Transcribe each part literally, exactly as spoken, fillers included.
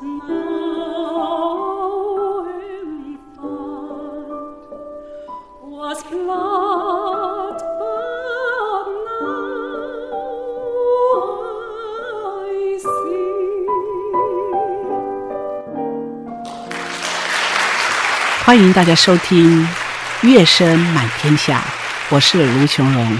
now empfand, was glatt, but now I see. 欢迎大家收听《乐声满天下》，我是卢琼荣。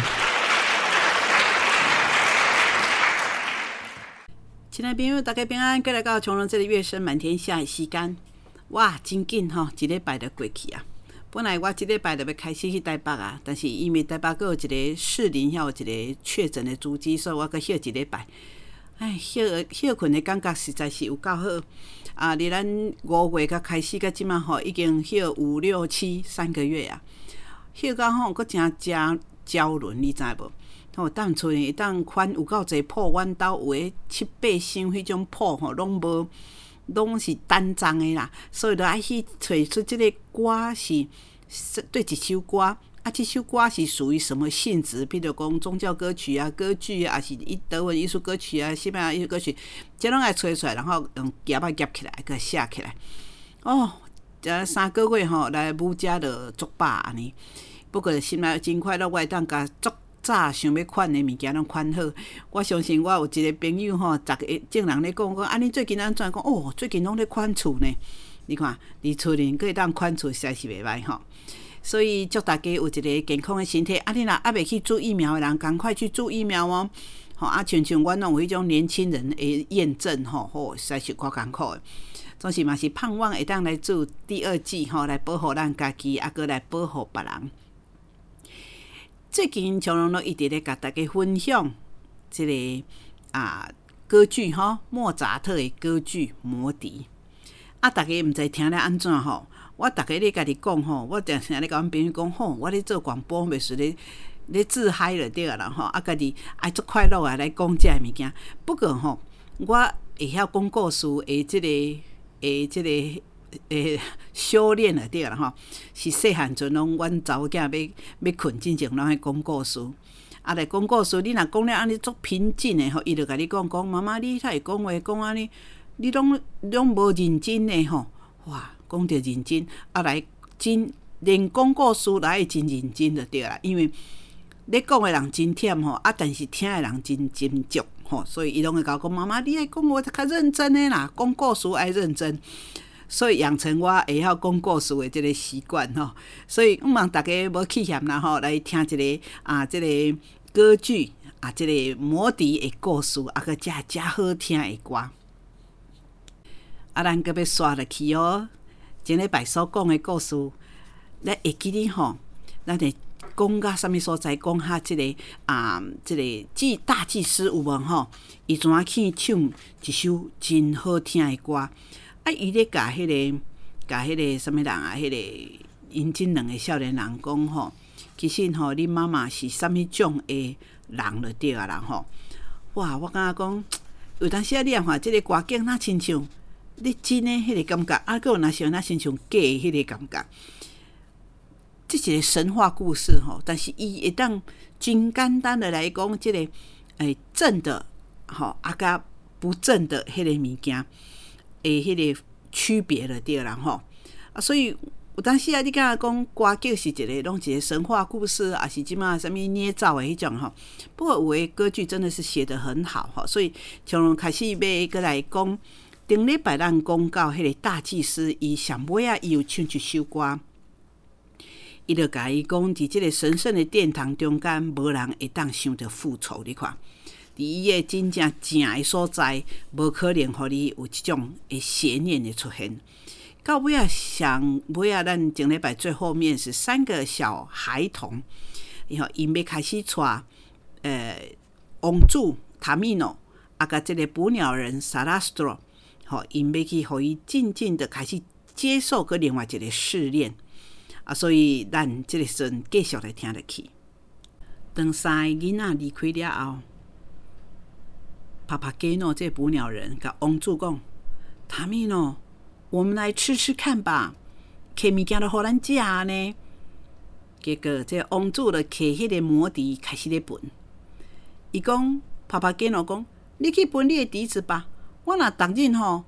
亲爱的朋友，大家平安，过来到琼荣这里《乐声满天下》的时间，哇，真紧吼，一礼拜就过去啊！本来我一礼拜就要开始去台北啊，但是因为台北还有一个士林，还有一个确诊的足迹，所以我搁休一礼拜。哎，休休困的感觉实在是有够好啊！伫咱五月才开始，到即马吼，已经休五六七三个月啊。休到吼，佫真真焦虑，你知无？吼，当厝会当款有够侪铺，阮兜有诶七八箱迄种铺吼，拢无，拢是单张诶啦，所以就爱去找出即个歌是对一首歌，啊，即首歌是属于什么性质？比如讲宗教歌曲啊、歌剧啊，还是德文艺术歌曲啊、西班牙艺术歌曲，这拢爱找出来，然后用夹啊夹起来，佮写起来。哦，这三个月吼，来母家就足饱安尼。不过心内真快乐，我会当甲足早想要款的物件拢款好。我相信我有一个朋友吼，逐个正人咧讲讲，啊，你最近安怎讲？哦，最近拢咧款厝呢。你看，伫厝里可以当款厝，实在是袂歹吼。所以祝大家有一个健康的身体。啊，你若还袂去做疫苗的人，赶快去做疫苗哦。吼，啊，像像阮拢有迄种年轻人的验证吼，吼，实在是够艰苦的。总是嘛是盼望会当来做第二剂吼，来保护咱家己，啊，搁来保护别人。最近琼荣都一直咧甲大家分享即、这个啊歌剧吼，莫扎特的歌剧《魔笛》。啊，大家毋知听了安怎吼？我大家咧家己讲吼，我定定咧甲阮朋友讲吼，我咧做广播，袂是咧咧自嗨了对啦吼，啊，家己爱足快乐啊来讲遮个物件。不过吼，我会晓讲故事的即、这个诶即、这个。诶，修炼了对啦吼，是细汉阵拢阮查某囝要要困之前，拢爱讲故事。啊，来讲故事，你若讲了安尼足平静的吼，伊就甲你讲讲，妈妈你才会讲话讲安尼，你拢拢无认真的吼，哇，讲着认真，啊来真连讲故事来会真认真就对啦，因为咧讲的人真忝吼，啊，但是听的人真真足吼，所以伊拢会甲我讲，妈妈你爱讲话较认真的啦，讲故事爱认真。所以养成我会晓讲故事的这个习惯吼，所以毋望大家无气嫌啦吼，来听一个啊，这个歌剧啊，这个魔笛的故事，啊个遮遮好听的歌。啊，咱搁要刷落去哦，前礼拜所讲的故事，咱会记哩吼，咱会讲到什么所在？讲下这个啊，这个祭大祭司有无吼？伊怎啊去唱一首真好听的歌？啊，伊咧甲迄个，甲迄个什么人啊？迄、那个因真两个少年人讲吼，其实吼，恁妈妈是什么种的人就对啊啦吼。哇，我感觉讲，有当时啊，你啊看即个歌景，哪亲像你真诶迄个感觉，啊，佮有若像哪亲像假诶迄个感觉。这是一个神话故事吼，但是伊会当真简单的来讲，即、这个诶正的吼，啊甲不正的迄个物件。诶，迄个区别了对啦吼啊，所以有当时啊，你敢讲歌剧是一个，拢一个神话故事，还是即马什么捏造的迄种吼。不过有诶歌剧真的是写得很好吼，所以从开始要过来讲，顶礼拜咱讲到迄个大祭司，伊上尾啊，伊有唱一首歌，伊就甲伊讲，伫即个神圣的殿堂中间，无人会当想着复仇，你看。伫伊个真正正的所在，无可能互你有即种的邪念的出现。到尾啊，上尾啊，咱前礼拜最后面是三个小孩童，然后因要开始带呃王主塔米诺，啊，甲即个捕鸟人萨拉斯托，吼，因要去互伊静静的开始接受个另外一个试炼啊，所以咱即个阵继续来听落去。当三个囡仔离开了后。帕帕基诺这捕鸟人甲王主讲：“塔米诺，我们来吃吃看吧，摕物件都互咱食呢。”结果这王主就摕迄个魔笛开始咧歕。伊讲：“帕帕基诺讲，你去歕你的笛子吧，我若逐日吼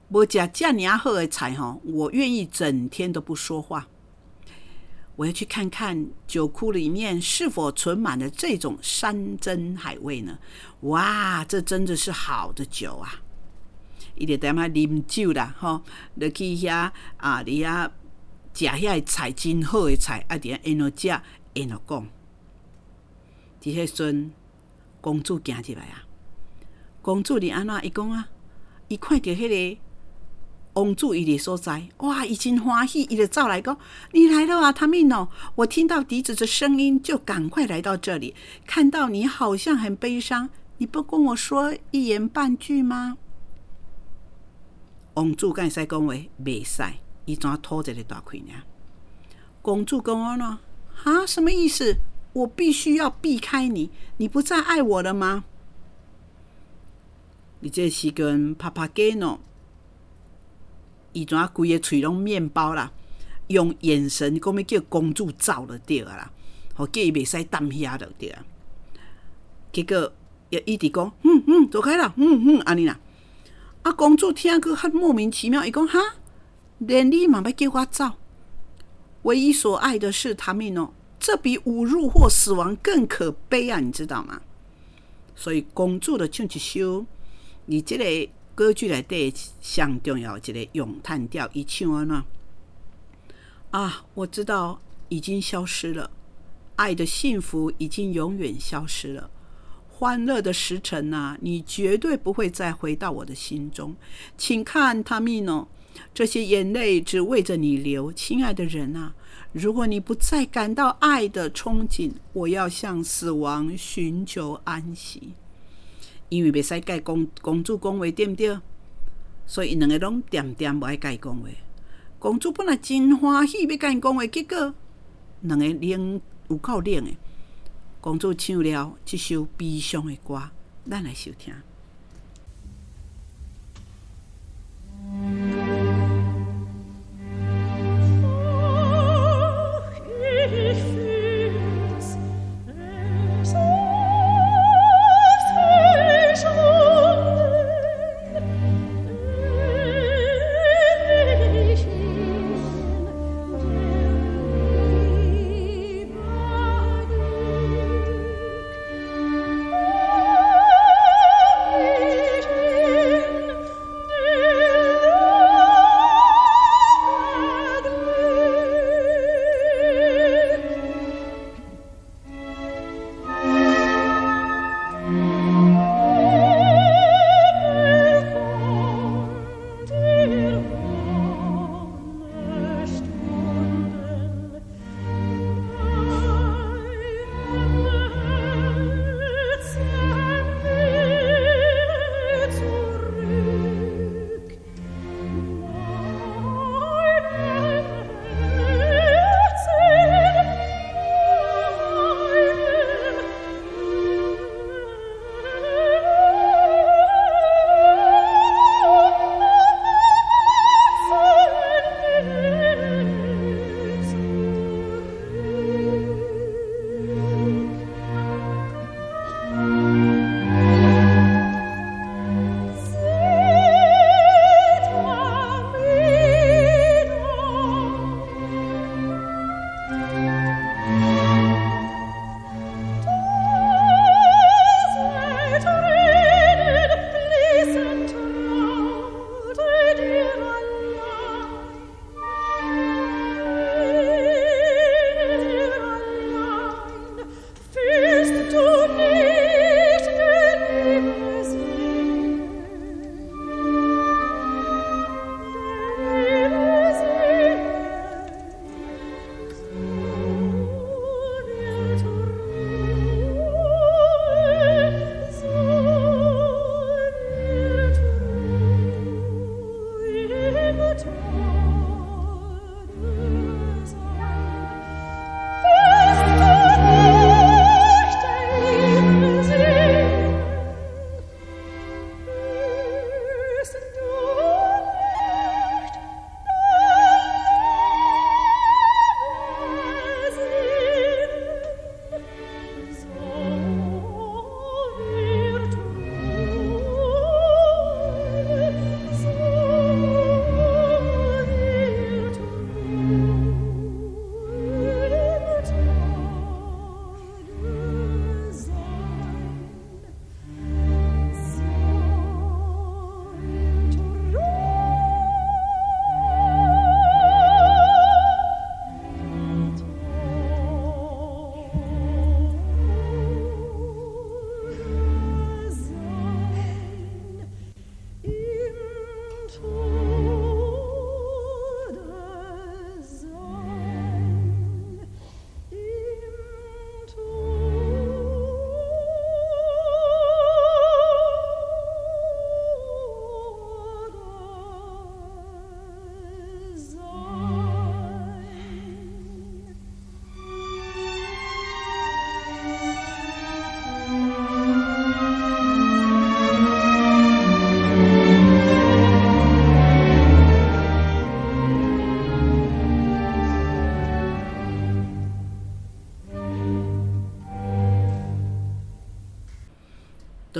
无吃这么好的菜吼，我愿意整天都不说话。我要去看看酒库里面是否存满了这种山珍海味呢？哇，这真的是好的酒啊！伊就踮遐啉酒啦，吼，就去遐啊，伫遐食遐菜真好的菜，啊，伫遐沿路食，沿路讲。伫迄阵，公主行入来啊，公主你安怎？伊讲啊，伊看到迄个王主伊的所在，哇，已经欢喜，伊就走来讲：“你来了啊，塔米诺！我听到笛子的声音，就赶快来到这里。看到你好像很悲伤，你不跟我说一言半句吗？”王主敢会使讲话？袂使，伊怎吐一个大气呢？公主讲安怎？啊，什么意思？我必须要避开你，你不再爱我了吗？你这时跟帕帕给诺。伊怎啊规个喙拢面包啦，用眼神讲要叫公主走就对啦，好叫伊袂使耽遐就对啊。结果也一直讲，嗯嗯，走开啦，嗯嗯，安尼啦。啊，公主听个较莫名其妙，伊讲哈，连你嘛要叫我走？唯一所爱的是塔米诺，这比侮辱或死亡更可悲啊，你知道吗？所以公主就唱一首，你这个。歌剧内底上重要一个咏叹调，伊唱安怎？啊，我知道已经消失了，爱的幸福已经永远消失了。欢乐的时辰啊，你绝对不会再回到我的心中。请看，塔米诺，这些眼泪只为着你流，亲爱的人啊！如果你不再感到爱的憧憬，我要向死亡寻求安息。因为袂使甲公公主讲话，对不对？所以两个拢点点无爱甲伊讲话。公主本来真欢喜要甲伊讲话，结果两个冷有够冷的。公主唱了这首悲伤的歌，咱来收听。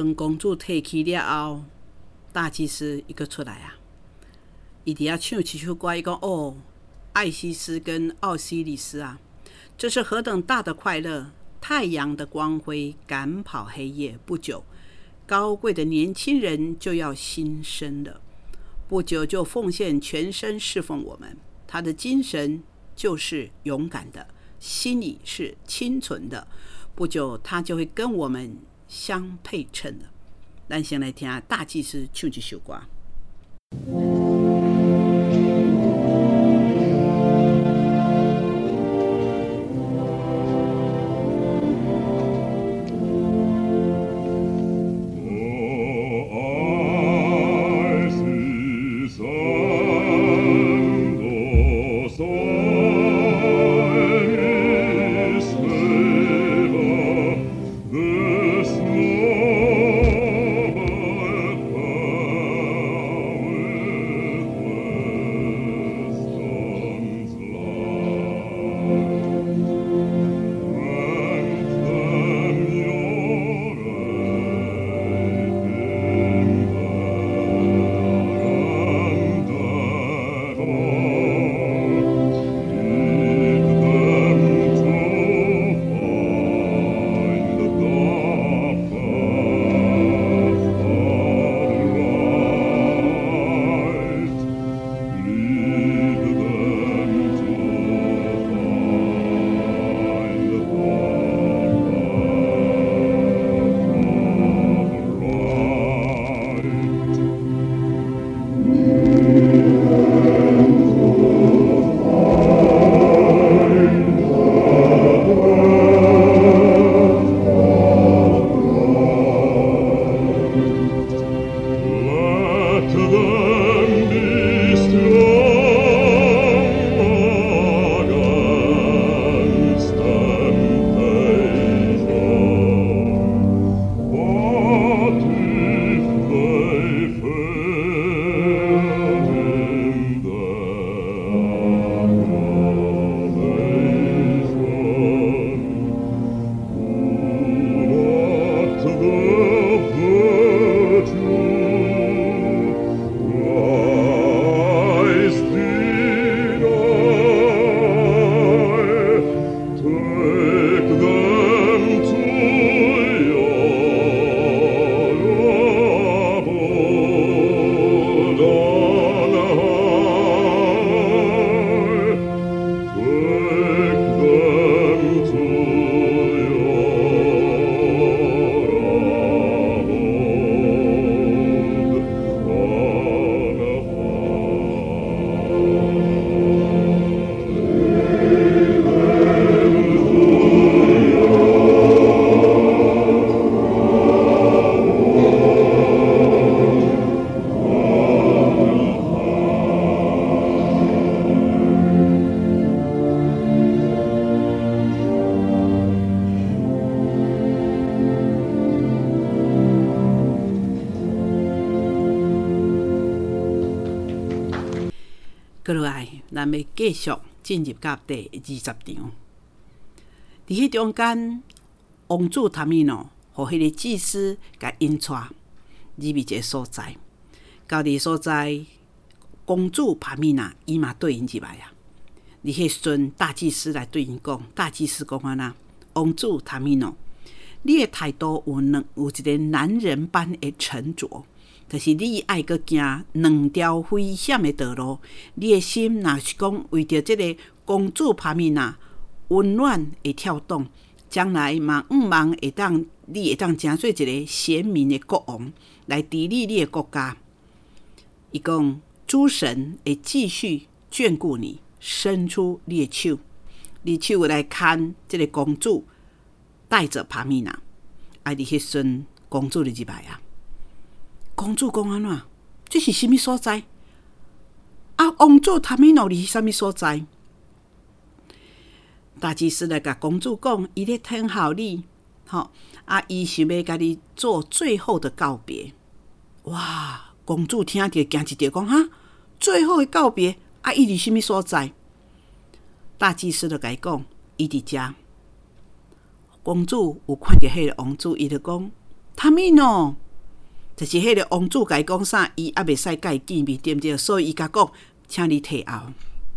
当公主提起了后，大祭司一个出来啊，伊伫遐唱一首歌，伊讲：“哦，艾西斯跟奥西里斯啊，这是何等大的快乐！太阳的光辉赶跑黑夜，不久，高贵的年轻人就要新生了。不久就奉献全身侍奉我们。他的精神就是勇敢的，心里是清纯的。不久，他就会跟我们相配称了。”咱先来听大祭司唱一首歌。过落来，咱要继续进入到第二十场。伫迄中间，王子塔米诺和迄个祭司甲引带入去一个所在，到伫所在，公主帕米娜伊嘛对因入来啊。伫迄时阵，大祭司来对因讲，大祭司讲安那，王子塔米诺，你的态度有两有一个男人般的沉着。就是你爱阁行两条危险的道路，你的心若是讲为着这个公主帕米娜温暖会跳动，将来嘛毋茫会当，你会当成做一个贤明的国王来治理你的国家。伊讲诸神会继续眷顾你，伸出你的手，你手来牵这个公主，带着帕米娜。啊，伫迄阵公主就入来啊。公主讲安怎？这是什么所在？啊，王子塔米诺伫什么所在？大祭司来甲公主讲，伊咧听候你，吼啊，伊想要甲你做最后的告别。哇！公主听着惊一跳，讲哈，最后的告别啊，伊伫什么所在？大祭司就甲伊讲，伊伫遮。公主有看到迄个王子，伊就讲， 他们喏，就是迄个王主甲伊讲啥，伊也袂使甲伊见面，对不对？所以伊甲讲，请你退后。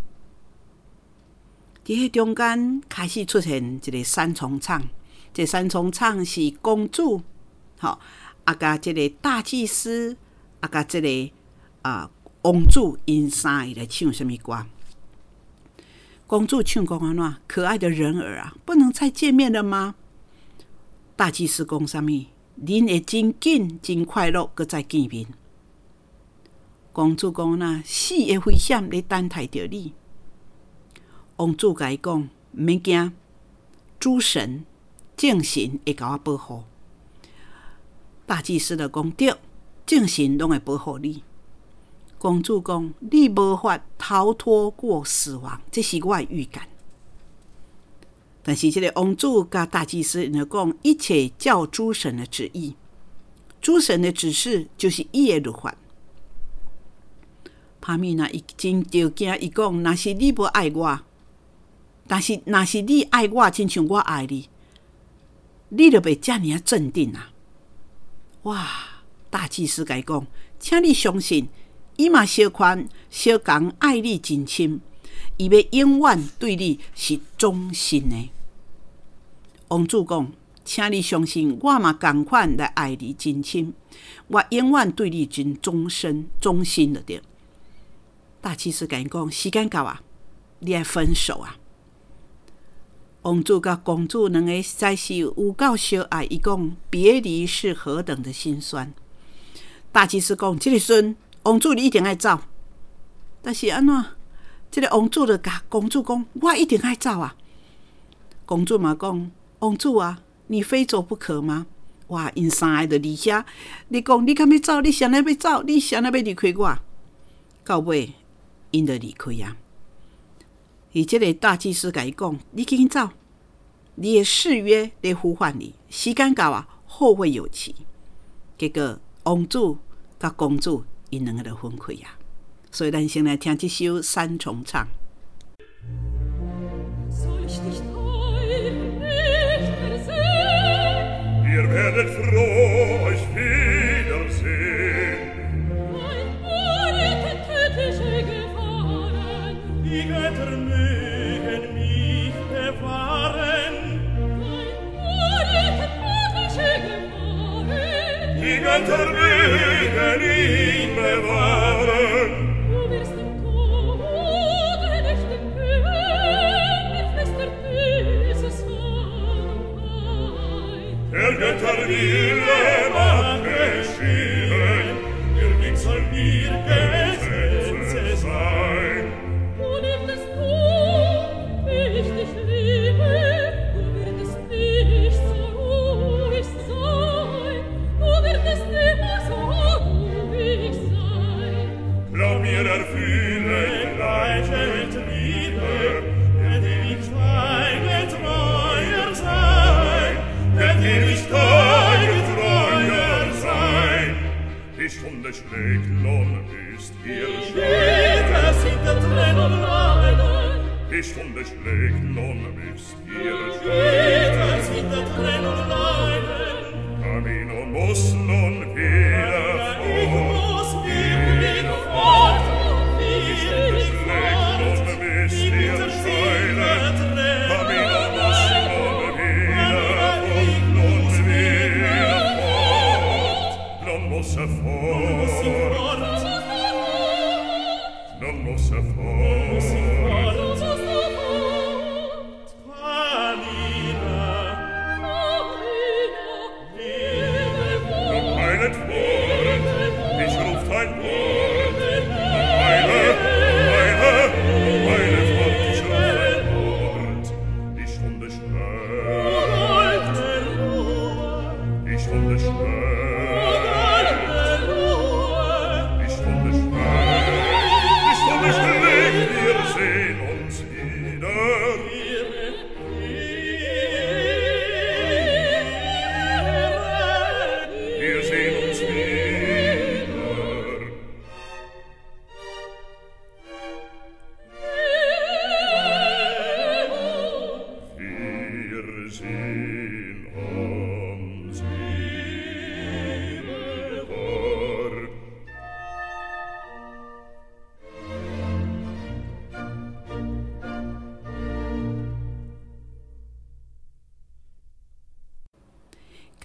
伫迄中间开始出现一个三重唱，这三重唱是公主，吼，啊甲即个大祭司，啊甲即个啊王主，因三个来唱什么歌？公主唱讲安怎？可爱的人儿啊，不能再见面了吗？大祭司讲啥物？恁会真紧、真快乐，搁再见面。公主讲呐，死会危险咧等待着你。王主甲伊讲，毋免惊，诸神、正神会甲我保护。大祭司就讲对，正神拢会保护你。公主讲，你无法逃脱过死亡，这是我的预感。但是这个王主甲大祭司因就讲，一切照诸神的旨意，诸神的指示就是伊的律法。帕米娜已经着惊，伊讲，若是你无爱我，但是若是你爱我，亲像我爱你，你就袂遮尔啊镇定啊！哇！大祭司甲伊讲，请你相信，伊嘛小款小共爱你真深，伊要永远对你是忠心的。王主讲，请你相信，我嘛同款来爱你真深，我永远对你真忠心忠心了对。大祭司甲伊讲，时间到啊，你爱分手啊！王主甲公主两个实在是有够相爱，伊讲别离是何等的心酸。大祭司讲，这个时阵，王主你一定爱走，但是安怎？这个王主就甲公主讲，我一定爱走啊！公主嘛讲，王主啊，你非走不可吗？哇，因三个就离遐，你讲你敢要走？你谁来要走？你谁来要离开我？到尾，因就离开啊。而这个大祭司甲伊讲，你紧紧走，你的誓约在呼唤你，时间到啊，后会有期。结果王主甲公主因两个就分开啊。所以咱先来听这首三重唱。 Ihr werdet froh euch wiedersehen. Ein Unrecht tödliche Gefahren, Die Götter mögen mich bewahren. ein Unrecht tödliche Gefahren, Die Götter mögen mich bewahren. du wirst im Tode nicht entgehen, mit fester Füße Sonnenheit. Der Götter Wille mag geschehen. Nirgend soll mir Gesetze sein. Du liebtest du, wie ich dich liebe, du wirst nicht so ruhig sein, du wirst immer so ruhig sein. Glaub mir, erfülle gleiche Liebe, wird ewig deine treuer sein, wird ewig deine treuer sein. Die Stunde schlägt, nun müsst ihr Jeder sieht der Tränen leiden, Die Stunde schlägt, nun müsst ihr jeder sieht der Tränen leiden. Camino muss nun wieder Ich fort. muss wirklich fort, ich will Schlägt, fort, nun müsst die ihr Güter sind schweilen. der Camino Tränen muss leiden. nun wieder fort. Nun wieder fort. Nun muss er fort. Nun muss er fort. Nun eilet fort. Ich ruf dein Wort. Nun eile, eile, eile fort. Ich ruf dein Wort. Die Stunde schlägt. Die Stunde schlägt. Die Stunde schlägt. Die Stunde schlägt.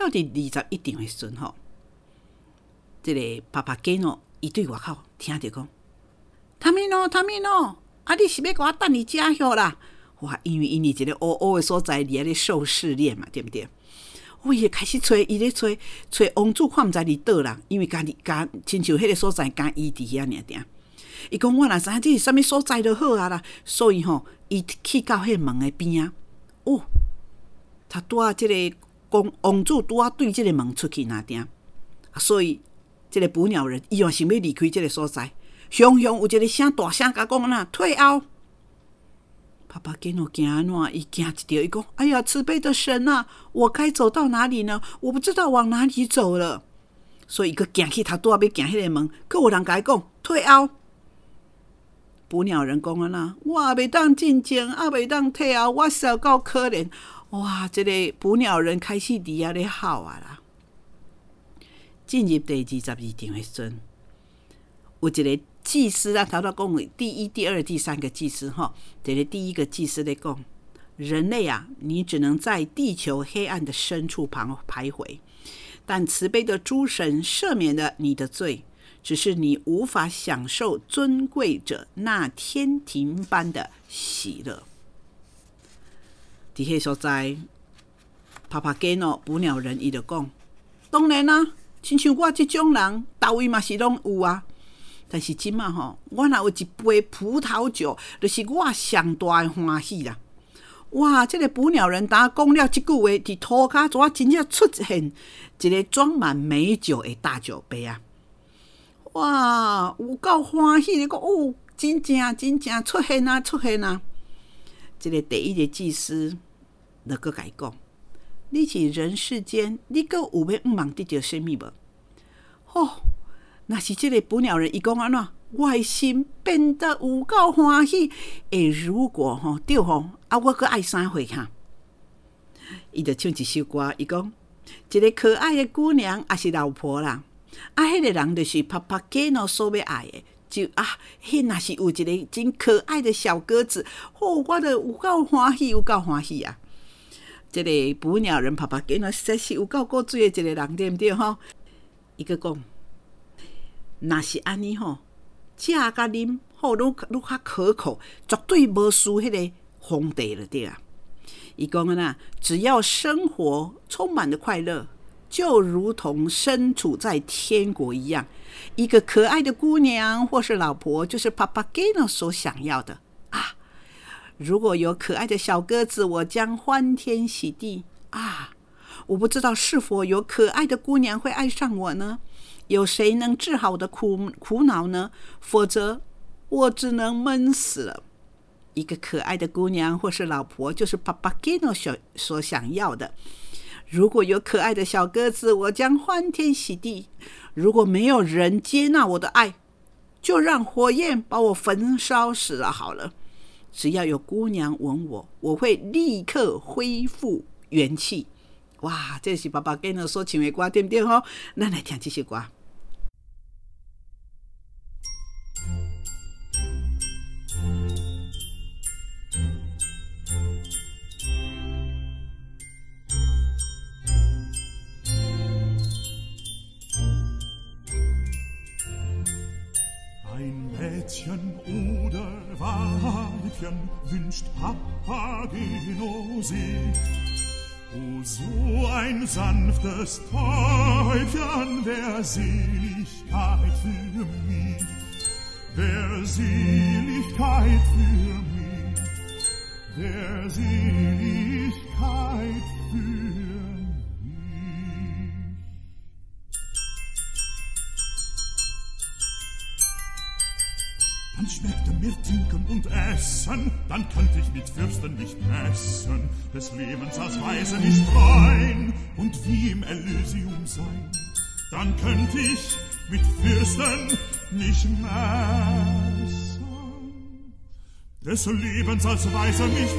到第二十一场的时阵吼，这个爸爸吉诺伊对外口听着讲，汤米诺，汤米诺，啊，你是要甲我等你家伙啦？哇，因为因为一个乌乌的所在，伫遐咧受试炼嘛，对不对？我伊开始找，伊咧找找王子，看毋知伫倒啦，因为家己家亲像迄个所在，家伊伫遐尔定。伊讲我若知影这是啥物所在就好啊啦，所以吼，伊去到迄门的边啊，哦，他拄啊，即个公王子拄啊对即个门出去那定，所以即个捕鸟人伊也想要离开即个所在，雄雄有一个声大声甲讲呐，退后。爸爸吉诺惊安怎？伊惊一条，伊讲：“哎呀，慈悲的神啊，我该走到哪里呢？我不知道往哪里走了。”所以伊个行去，他拄啊要行迄个门，佫有人甲伊讲退后。捕鸟人讲啊啦，我也袂当进前，也袂当退后，我实够可怜。哇！这个捕鸟人开始伫遐咧哭啊啦。进入第二十二场的时阵，有一个祭司啊，头头讲的第一、第二、第三个祭司哈，这个第一个祭司在讲，人类啊，你只能在地球黑暗的深处旁徘徊，但慈悲的诸神赦免了你的罪，只是你无法享受尊贵者那天庭般的喜乐。伫迄所在，帕帕基诺捕鸟人伊就讲，当然啦、啊，亲像我这种人，到位嘛是拢有啊。但是即马吼，我若有一杯葡萄酒，就是我上大的欢喜啦！哇，这个捕鸟人当讲了即句话，伫涂骹左真正出现一个装满美酒的大酒杯啊！哇，有够欢喜的，讲哦，真正真正出现啊，出现啊！这个第一个祭司就搁甲伊讲：你是人世间，你搁有要毋茫得到什么无？吼、哦！若是这个捕鸟人，伊讲安怎？我的心变得有够欢喜。诶，如果吼对吼，啊，我搁爱啥货哈？伊就唱一首歌，伊讲一个可爱的姑娘，也是老婆啦。啊，迄、那个人就是帕帕基诺所要爱的，就啊，迄若是有一个真可爱的小鸽子，哦，我就有够欢喜，有够欢喜啊！这个捕鸟人帕帕基诺实在是有够过水的一个人，对不对吼？伊个讲。若是安尼吼，食甲啉好，愈愈较可口，绝对无输迄个皇帝了对啊。伊讲啊呐，只要生活充满了快乐，就如同身处在天国一样。一个可爱的姑娘或是老婆，就是帕帕基诺所想要的啊。如果有可爱的小鸽子，我将欢天喜地啊。我不知道是否有可爱的姑娘会爱上我呢？有谁能治好我的苦苦恼呢？否则我只能闷死了。一个可爱的姑娘或是老婆，就是帕帕基诺所想要的。如果有可爱的小鸽子，我将欢天喜地。如果没有人接纳我的爱，就让火焰把我焚烧死了好了。只要有姑娘吻我，我会立刻恢复元气。哇，这是爸爸跟我所唱的歌，对不对吼？咱来听这首歌。 Ein Mädchen oder Weibchen wünscht Papageno sie. O, so ein sanftes Täubchen, wär Seligkeit für mich, wär Seligkeit für mich, wär Seligkeit für mich. Dann schmeckte mir Trinken und Essen, dann könnte ich mit Fürsten nicht messen, des Lebens als Weise nicht rein und wie im Elysium sein. Dann könnte ich mit Fürsten nicht messen, des Lebens als Weise nicht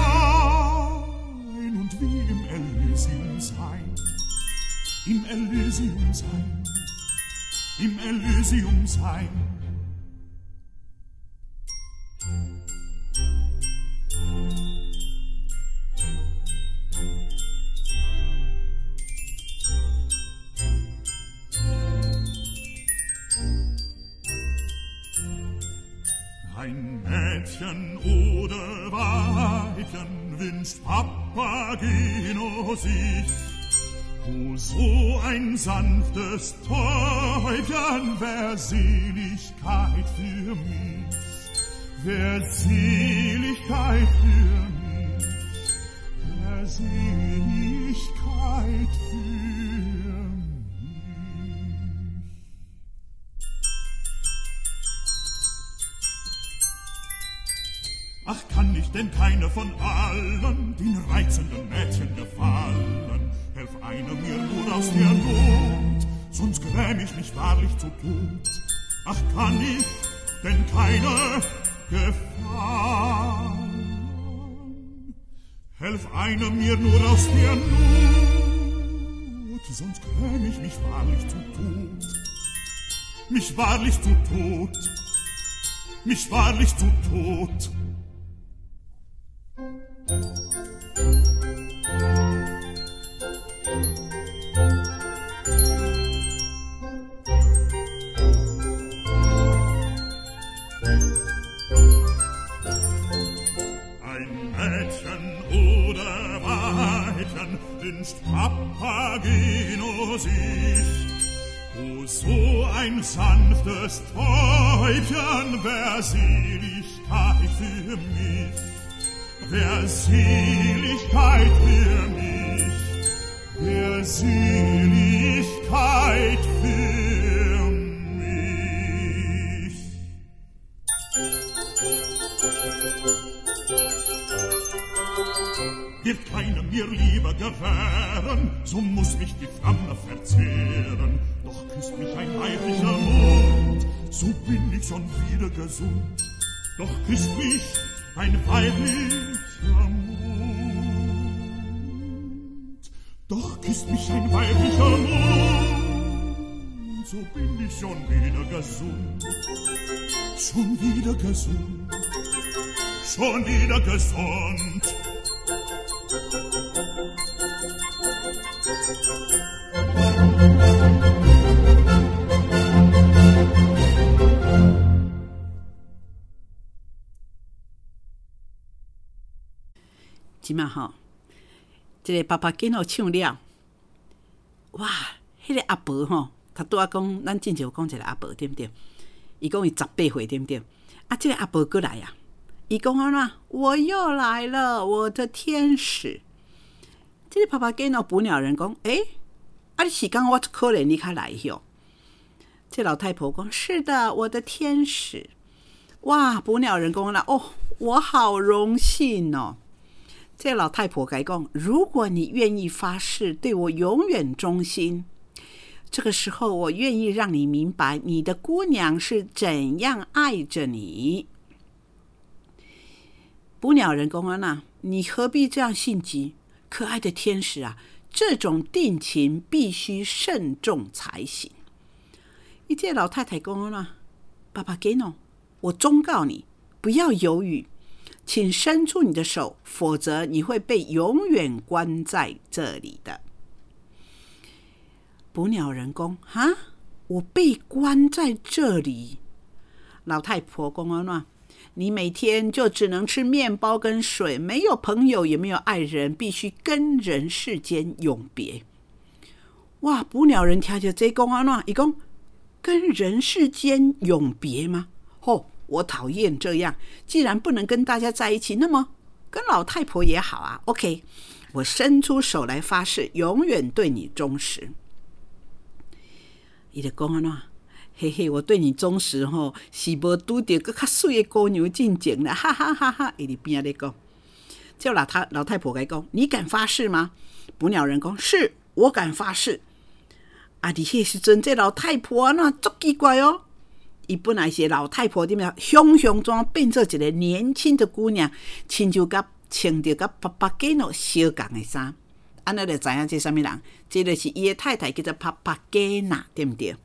rein und wie im Elysium sein. Im Elysium sein, im Elysium sein. Ein Mädchen oder Weibchen wünscht Papageno sich. Oh, so ein sanftes Täubchen, wär Seligkeit für mich, wär Seligkeit für mich, wär Seligkeit für mich. Ach, kann ich denn keine von allen den reizenden Mädchen gefallen? Helf einer mir nur aus der Not, sonst gräm ich mich wahrlich zu Tod. Ach, kann ich denn keine gefallen? Helf einer mir nur aus der Not, sonst gräm ich mich wahrlich zu Tod. Mich wahrlich zu Tod, mich wahrlich zu Tod. Ein Mädchen oder Weibchen wünscht Papageno sich. Oh, so ein sanftes Täubchen wär Seligkeit für mich, wär Seligkeit für mich, wär Seligkeit für mich. Wird keiner mir lieber gewähren, so muss mich die Flamme verzehren. Doch küsst mich ein weiblicher Mund, so bin ich schon wieder gesund. Doch küsst mich ein weiblicher Mund. Doch küsst mich ein weiblicher Mund, so bin ich schon wieder gesund. Schon wieder gesund, schon wieder gesund. 即马吼，这个爸爸囡仔唱了，哇！迄、那个阿婆吼，他拄仔讲，咱之前有讲一个阿婆，对不对？伊讲伊十八岁，对不对？啊，这个阿婆过来啊，伊讲安怎？我又来了，我的天使。这个爸爸囡仔捕鸟人讲，诶、欸，啊，你是讲我可怜你较来哟？这老太婆讲，是的，我的天使。哇！捕鸟人讲啦，哦，我好荣幸哦。这老太婆该讲，如果你愿意发誓对我永远忠心，这个时候我愿意让你明白你的姑娘是怎样爱着你。捕鸟人公安啊，你何必这样心急？可爱的天使啊，这种定情必须慎重才行。一介老太太公啊，爸爸给侬，我忠告你，不要犹豫。请伸出你的手，否则你会被永远关在这里的。捕鸟人公，哈，我被关在这里。老太婆公啊，你每天就只能吃面包跟水，没有朋友，也没有爱人，必须跟人世间永别。哇！捕鸟人听着这讲啊，他讲跟人世间永别吗？吼！我讨厌这样，既然不能跟大家在一起，那么跟老太婆也好啊。OK， 我伸出手来发誓，永远对你忠实。他就说什么？嘿嘿，我对你忠实吼，是无拄到更较水的姑娘进前啦，哈哈哈哈！他在边仔咧讲，叫老太老太婆该讲，你敢发誓吗？捕鸟人讲，是我敢发誓。啊，伫迄时阵，这老太婆那足奇怪哦。伊本来是老太婆，点样雄雄装变做一个年轻的姑娘，亲像甲穿着甲爸爸给诺相共的衫，安尼就知影这什么人？这就是伊的太太，叫做爸爸给娜，对不对？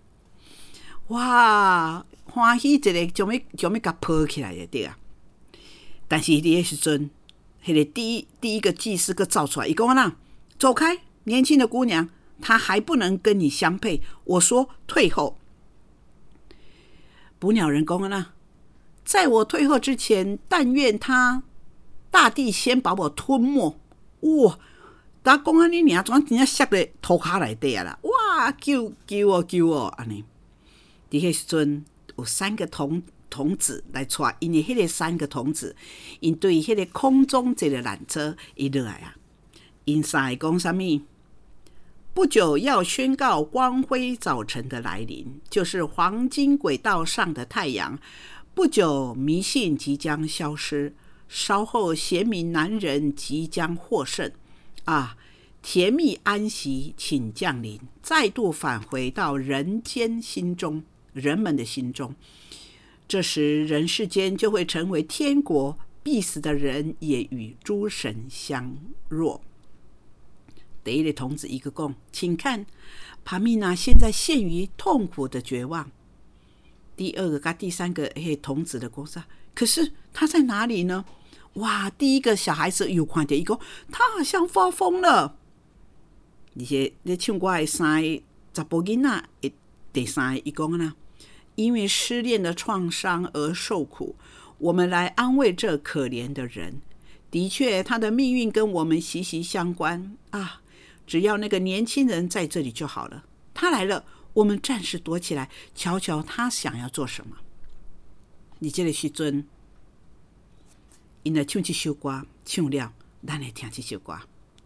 哇，欢喜一个，将要将要甲抱起来就对啊！但是伫迄时阵，迄个第一第一个祭司个造出来，伊讲啊，走开，年轻的姑娘，她还不能跟你相配。我说退后。捕鸟人讲啊， 在我退后之前，但愿他大地先把我吞没。哇！打讲安尼尔，怎真正摔咧涂骹内底啊啦！哇，救救我救我！安尼，伫迄时阵有三个童童子来带，因为迄个三个童子，因对迄个空中这个缆车伊落来啊，因三个讲啥物？不久要宣告光辉早晨的来临，就是黄金轨道上的太阳。不久迷信即将消失，稍后贤明男人即将获胜。啊，甜蜜安息请降临，再度返回到人间心中，人们的心中。这时人世间就会成为天国，必死的人也与诸神相若。第一个童子一个讲，请看，帕米娜现在陷于痛苦的绝望。第二个跟第三个嘿童子的讲啥？可是他在哪里呢？哇！第一个小孩子有看到伊讲，他好像发疯了。而且咧唱歌的三个查甫囡仔，第三个伊讲啦，因为失恋的创伤而受苦，我们来安慰这可怜的人。的确，他的命运跟我们息息相关啊！只要那个年轻人在这里就好了。他来了，我们暂时躲起来，瞧瞧他想要做什么。你这个时阵，因来唱这首歌，唱了，咱来听这首歌。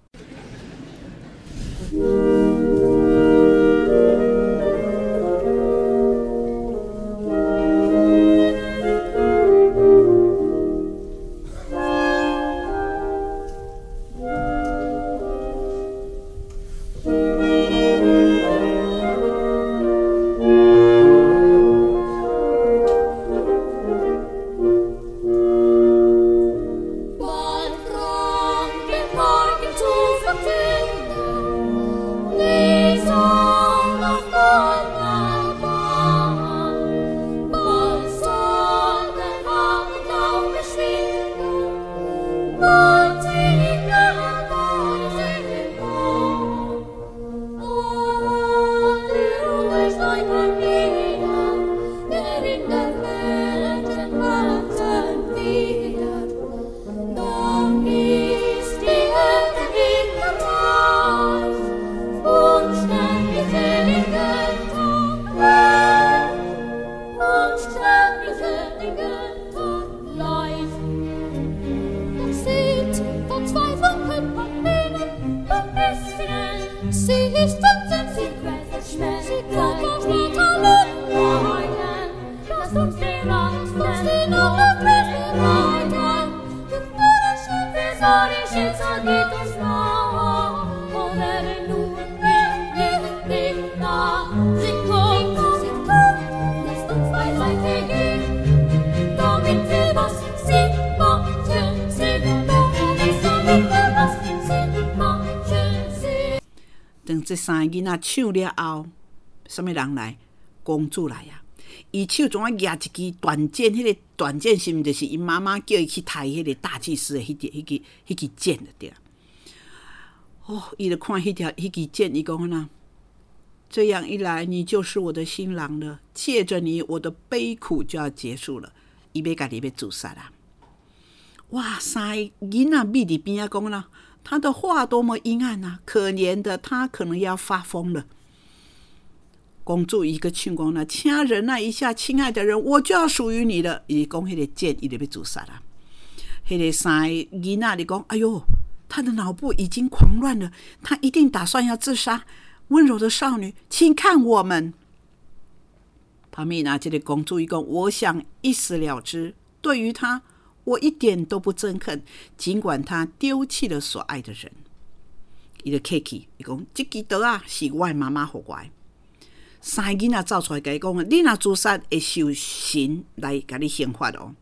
等这三个囡仔唱了后，什么人来？公主来啊！伊手怎啊拿一支断剑？迄、那个断剑是毋就是伊妈妈叫伊去抬迄个大祭司的迄支、迄支、迄支剑的对。哦，伊就看迄条、迄支剑，伊讲呐，这样一来，你就是我的新郎了。借着你，我的悲苦就要结束了。伊要家己要自杀啦！哇，三个囡仔眯伫边仔讲啦。他的话多么阴暗啊！可怜的他可能要发疯了。公主一个唱讲啦，请忍耐一下，亲爱的人，我就要属于你了。伊讲迄个剑，伊就要自杀啦。迄个三个囡仔就讲，哎呦，他的脑部已经狂乱了，他一定打算要自杀。温柔的少女，请看我们。帕米娜这个公主一讲，我想一死了之。对于他，我一点都不憎恨，尽管他丢弃了所爱的人。伊就客气，伊讲：这支刀啊，是我的妈妈给我的。三个囡仔走出来，甲伊讲：你若自杀，会受神来甲你刑罚哦。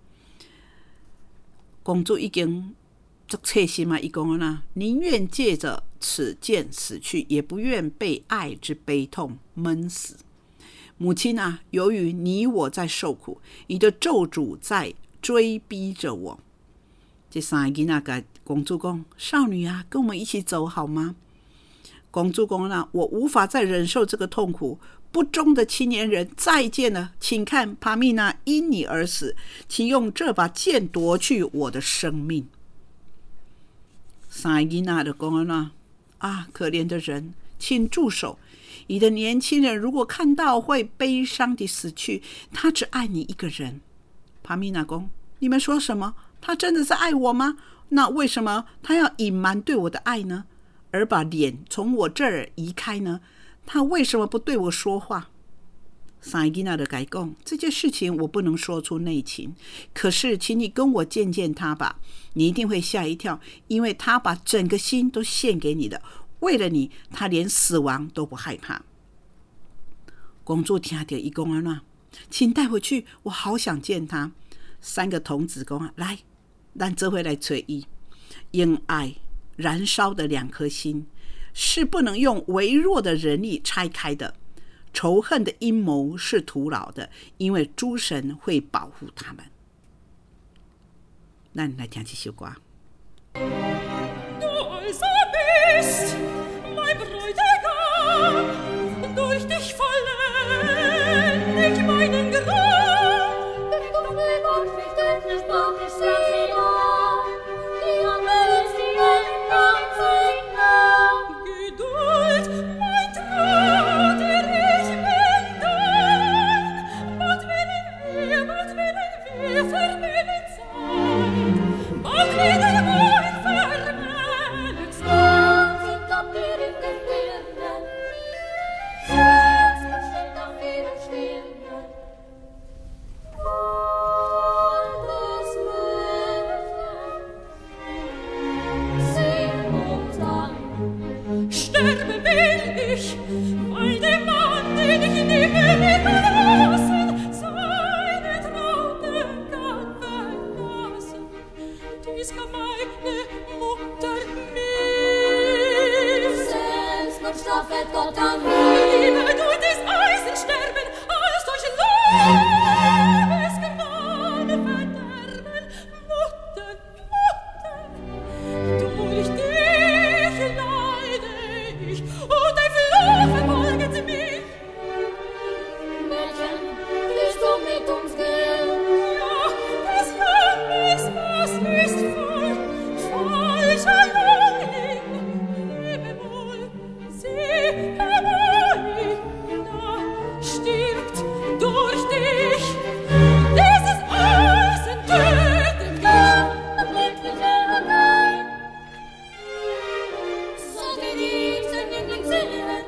公主已经足切心嘛，伊讲啦：宁愿借着此剑死去，也不愿被爱之悲痛闷死。母亲啊，由于你我在受苦，你的咒诅在追逼着我。这三个囡仔跟公主讲：少女啊，跟我们一起走好吗？公主讲啦：我无法再忍受这个痛苦， 不忠的青年人，再见了，请看帕米娜因你而死，请用这把剑夺去我的生命。三个囡仔就讲了啊，可怜的人，请住手！你的年轻人如果看到会悲伤地死去，他只爱你一个人。帕米娜讲，你们说什么？他真的是爱我吗？那为什么他要隐瞒对我的爱呢？而把脸从我这儿移开呢？他为什么不对我说话？三个囡仔就跟他讲，这件事情我不能说出内情，可是请你跟我见见他吧，你一定会吓一跳，因为他把整个心都献给你的，为了你，他连死亡都不害怕。公主听到他说这样，请带回去，我好想见他。三个童子说，来，咱这回来找他。因爱燃烧的两颗心是不能用微弱的人力拆开的，仇恨的阴谋是徒劳的，因为诸神会保护他们。咱来听这首歌。 Du also bist mein Bräutigam, durch dich vollend ich meinen Graben. Denn du mir Gott nicht endlich brauch ich sie ja, die Himmel sie ändern sich nah. Geduld, mein Vater, ich bin dein. Bald werden wir, bald werden wir vermählet sein. Bald wieder wohl vermählet sein. Sind ab dir in den Birnen, selbst bestimmt auf ihren Stirnen. Alles Märchen, sing uns an. Sterben will ich, weil der Mann, den ich liebe, mir verlassen, seine Traute kann verlassen. Dies kann meine Mutter mir. Selbstmord straffet Gott an mir. Lieber durch das Eisen sterben, als durch Liebesgewahne verderben. Mutter, Mutter, durch dich leide ich, und ein Fluch verfolget mich. Mädchen, willst du mit uns gehen? Ja, das Herz, das ist voll falscher Logik. Lebe wohl, sieh herbei, da stirbt durch dich dieses Eisen tötet mich. Das glückliche Hakein, so die liebsten Jüngling sehen,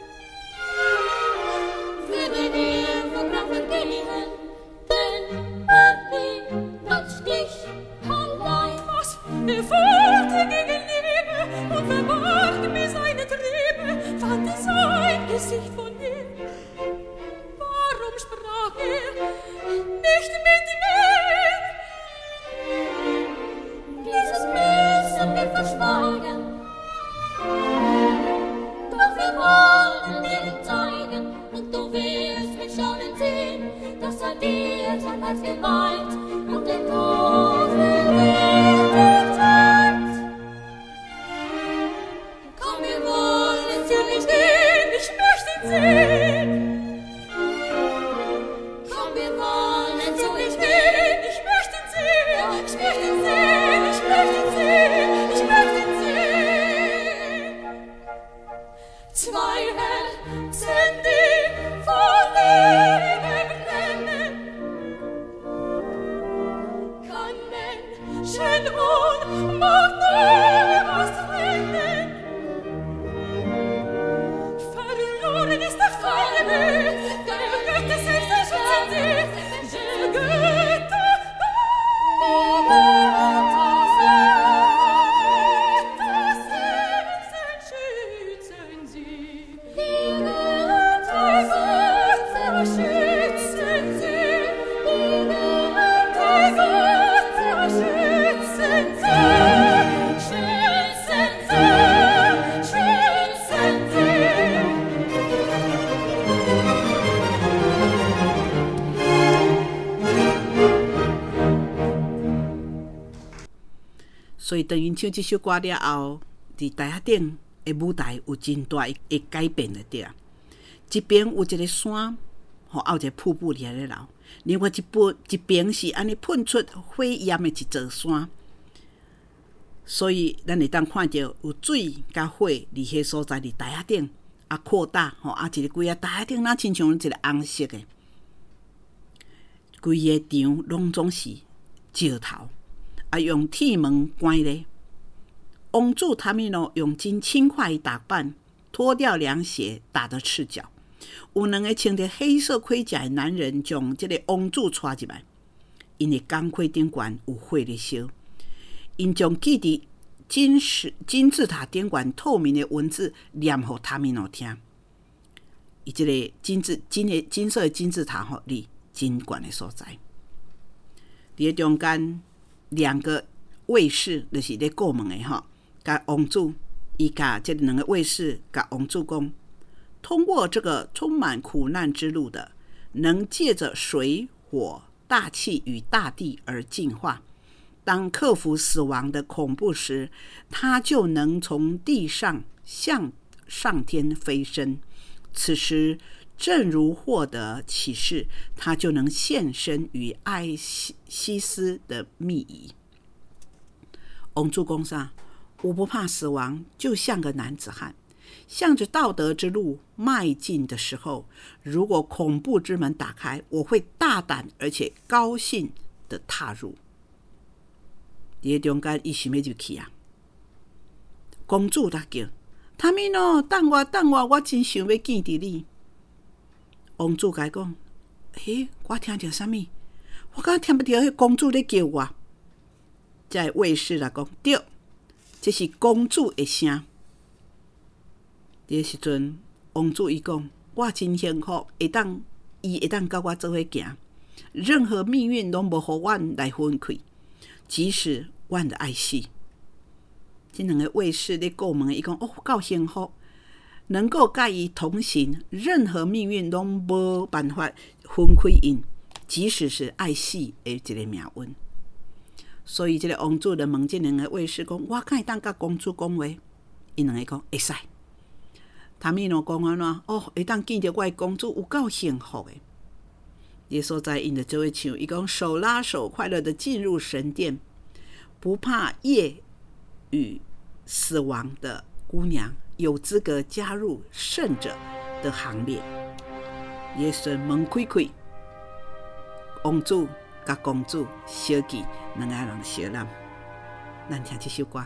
würde dir verkrampft gehen, denn er liebt dich allein. Was er forderte gegen Liebe und verbarg mir seine Triebe, fand sein Gesicht von mir. Warum sprach er nicht mit mir? Dieses müssen wir verschweigen, doch wir wollen dir zeigen, und du wirst mit Staunen sehen, dass er dir sein Herz geweiht und den Tod verrichtet hat. Komm, wir wollen Für mich den, ich möchte ihn sehen. komm, wir wollen zu Ich ihm will, ich möchte ihn sehen. Ich möchte ihn sehen, ich möchte ihn sehen, ich möchte ihn sehen. Zwei Herzen, die vor Liebe brennen, kann Menschen Unmacht niemals trennen. Verloren ist der feine Mut, der Götter selbst erschützen sie, der Götter, Götter selbst erschützen sie. Die Götter erschützen sie, die Götter erschützen sie, schützen sie, schützen sie. 所以等于唱这首歌了后，伫台下顶的舞台有真大的改变了对啊。 一边有一个山，吼，还有一个瀑布伫咧流。另外一边一边是安尼喷出火焰的一座山，所以咱会当看到有水甲火伫迄所在伫台仔顶啊扩大，吼啊一个规个台仔顶那亲像一个红色的，规个场拢总是石头，啊用铁门关咧。王主塔米诺用尽轻快打扮，脱掉凉鞋，打得赤脚。有两个穿着黑色盔甲的男人将这个王主带入来，因为钢盔顶悬有火咧烧，因将记伫金石金字塔顶悬透明的文字念给塔米诺听。伊这个金字金的金色的金字塔吼，离真悬的所在。伫中间两个卫士就是咧过门的吼，甲王主伊甲这两个卫士甲王主讲。通过这个充满苦难之路的，能借着水、火、大气与大地而进化。当克服死亡的恐怖时，他就能从地上向上天飞升。此时，正如获得启示，他就能现身于艾西斯的密仪。王主公上，我不怕死亡，就像个男子汉。向着道德之路迈进的时候，如果恐怖之门打开，我会大胆而且高兴地踏入。在中间，伊想要入去啊！公主大叫：“塔米诺，等我，等我，我真想要见到你。”王主甲讲：“嘿，我听到什么？我敢听不到迄公主咧叫我。”这卫士来讲：“对，这是公主的声。”这时阵，王主伊讲：“我真幸福，会当伊会当甲我做伙行，任何命运拢无互阮来分开，即使阮的爱死。”这两个卫士咧过问，伊讲：“哦，够幸福，能够甲伊同行，任何命运拢无办法分开因，即使是爱死的一个命运。”所以，这个王主就问这两个卫士讲：“我敢会当甲公主讲话？”因两个讲：“会使。”塔米诺讲安怎？哦，会当见到我的公主，有够幸福的。耶稣在因的这位唱，伊讲手拉手，快乐的进入神殿，不怕夜与死亡的姑娘，有资格加入圣者的行列。耶稣门开开，王主甲公主相见，两个人相揽。咱听这首歌。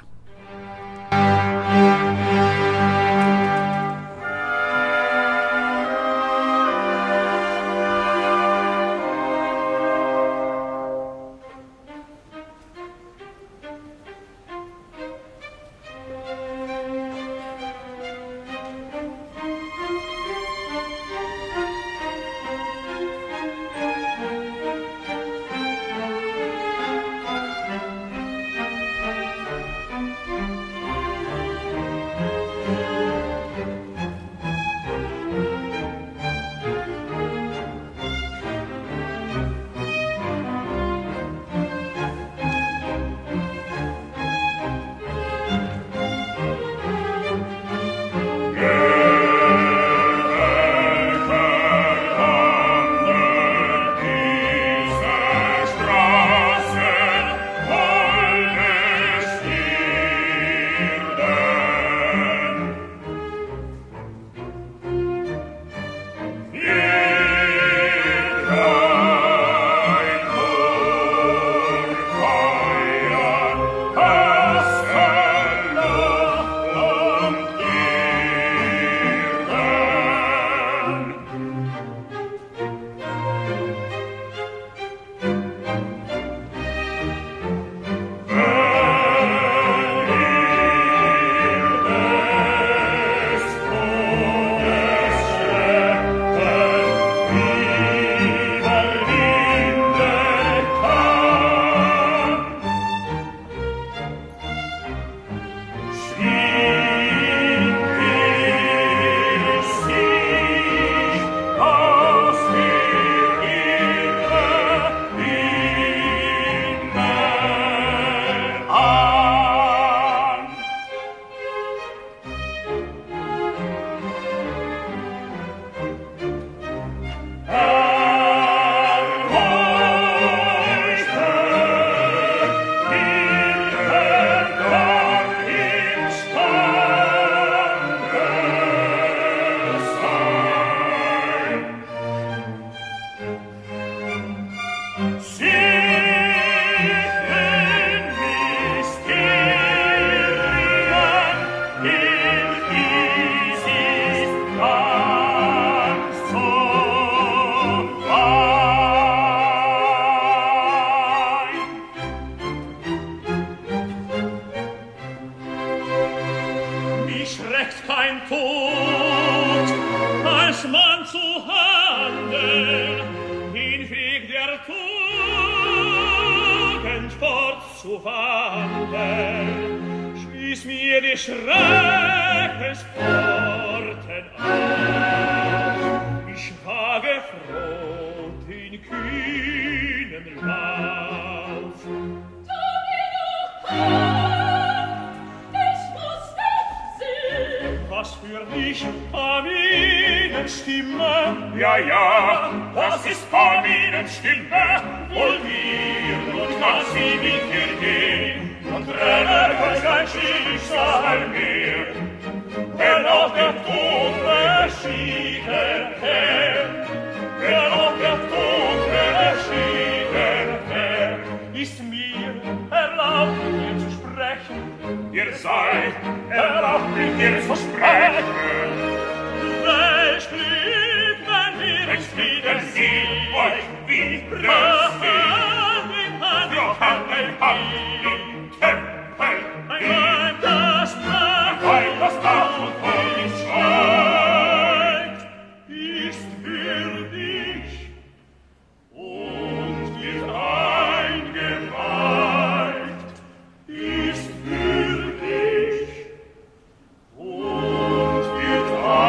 abzuwandeln, schließ mir die Schreckensporten auf. Ich wage froh den kühnen Lauf. Du mir doch auf, ich muss dich sehen. Was für dich, Paminenstimme? Ja, ja, das ist Paminenstimme. Wohl wir, nun kann sie mit dir gehen. Und trennen kein Schicksal mehr. Wenn auch der Tod beschieden wär, wenn auch der Tod beschieden wär, Ist mir erlaubt, mit dir zu sprechen? ihr seid erlaubt mit dir zu sprechen. Welch Glück, wenn wir uns Frieden wieder sie euch wieder sehen. Wir haben ein Hand im Tempel, Ein Weib, das nach weil das Dach und König Weib ist für dich und wird eingeweiht, ist für dich und wird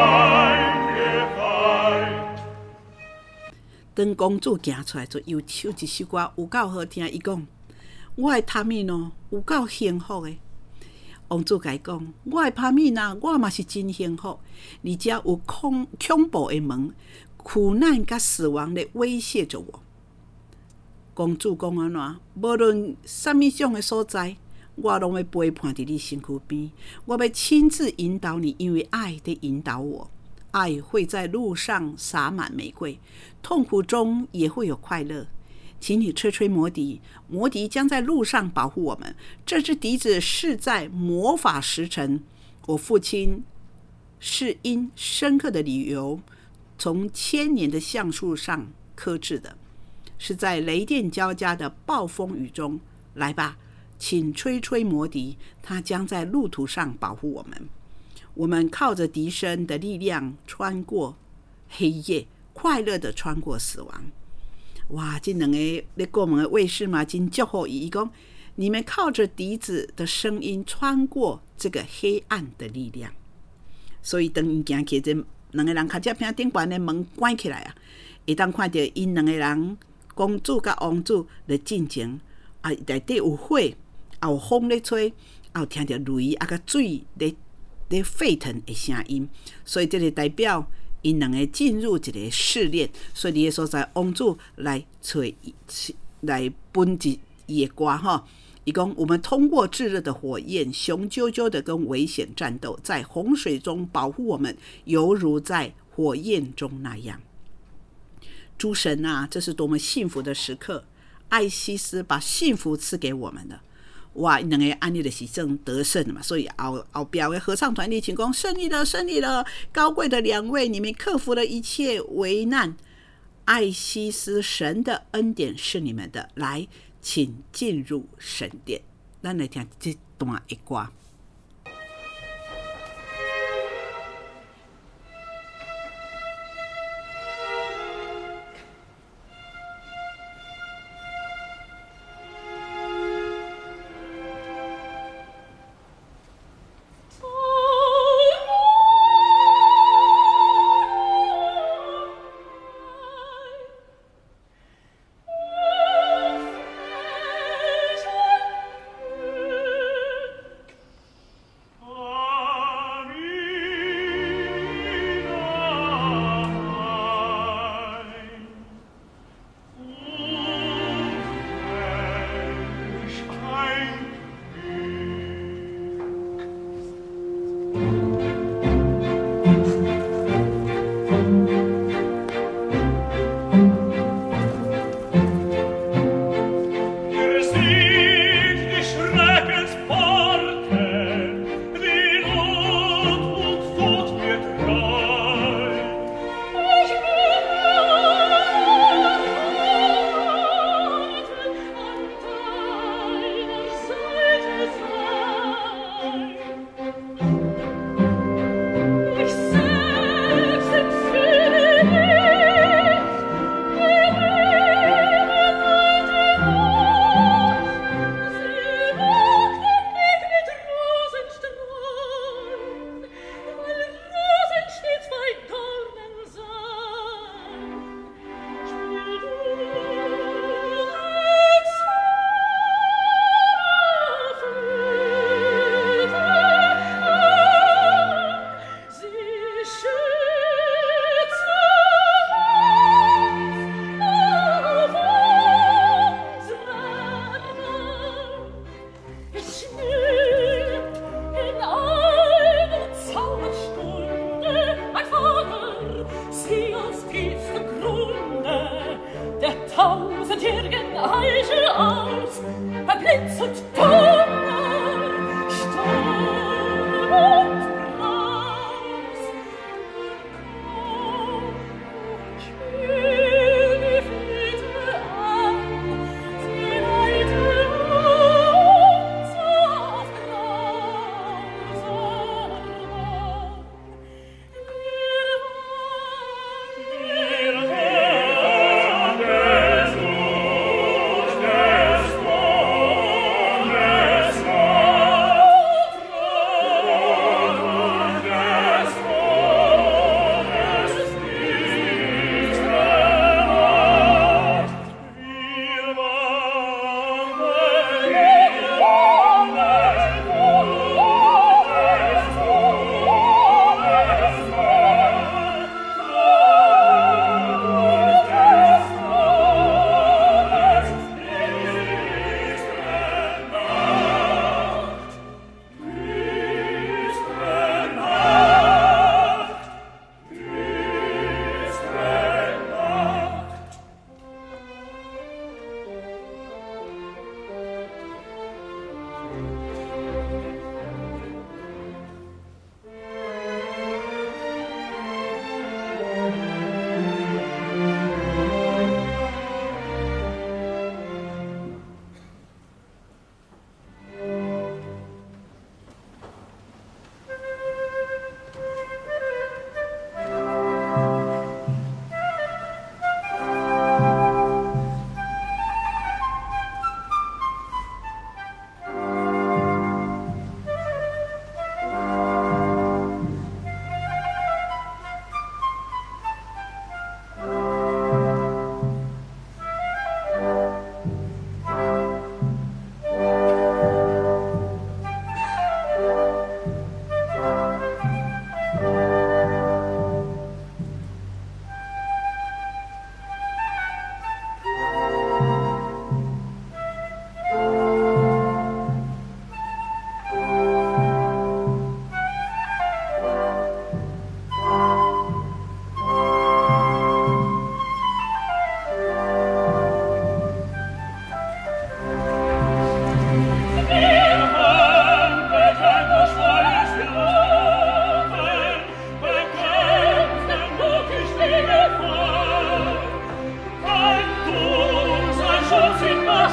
eingeweiht. 当公主行出来，就又唱一首歌，有够好听。伊讲：“我的塔米诺有够幸福的。”王子甲伊讲：“我的帕米娜，我嘛是真幸福。而且有恐恐怖的门、苦难甲死亡咧威胁着我。”公主讲安怎？无论什么种的所在，我拢要陪伴伫你身躯边。我要亲自引导你，因为爱在引导我。爱会在路上洒满玫瑰，痛苦中也会有快乐。请你吹吹魔笛，魔笛将在路上保护我们。这支笛子是在魔法时辰，我父亲是因深刻的理由从千年的橡树上刻制的，是在雷电交加的暴风雨中。来吧，请吹吹魔笛，它将在路途上保护我们。我们靠着笛声的力量穿过黑夜，快乐的穿过死亡。哇，这两个咧过门的卫士嘛，真祝福伊讲，你们靠着笛子的声音穿过这个黑暗的力量。所以当伊行起这两个人脚趾边顶悬的门关起来啊，会当看到因两个人公主甲王子咧进前啊，内底有火，也有风咧吹，也有听到雷啊甲水咧咧沸腾的声音，所以这个代表因两个进入一个试炼，所以你的所在王子来找来分伊的歌吼。伊讲我们通过炙热的火焰，雄赳赳的跟危险战斗，在洪水中保护我们，犹如在火焰中那样。诸神啊，这是多么幸福的时刻！艾西斯把幸福赐给我们了。哇，两个安利的是正得胜嘛，所以后后边的合唱团体请讲胜利了，胜利了！高贵的两位，你们克服了一切危难。艾西斯神的恩典是你们的，来，请进入神殿。咱来听这段的歌。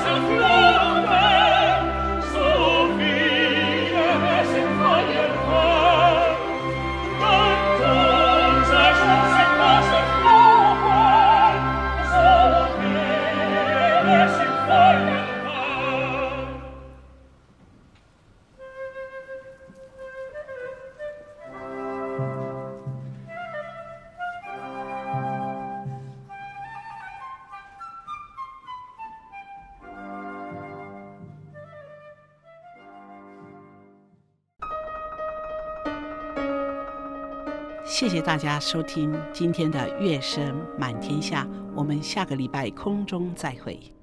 谢谢大家收听今天的乐声满天下，我们下个礼拜空中再会。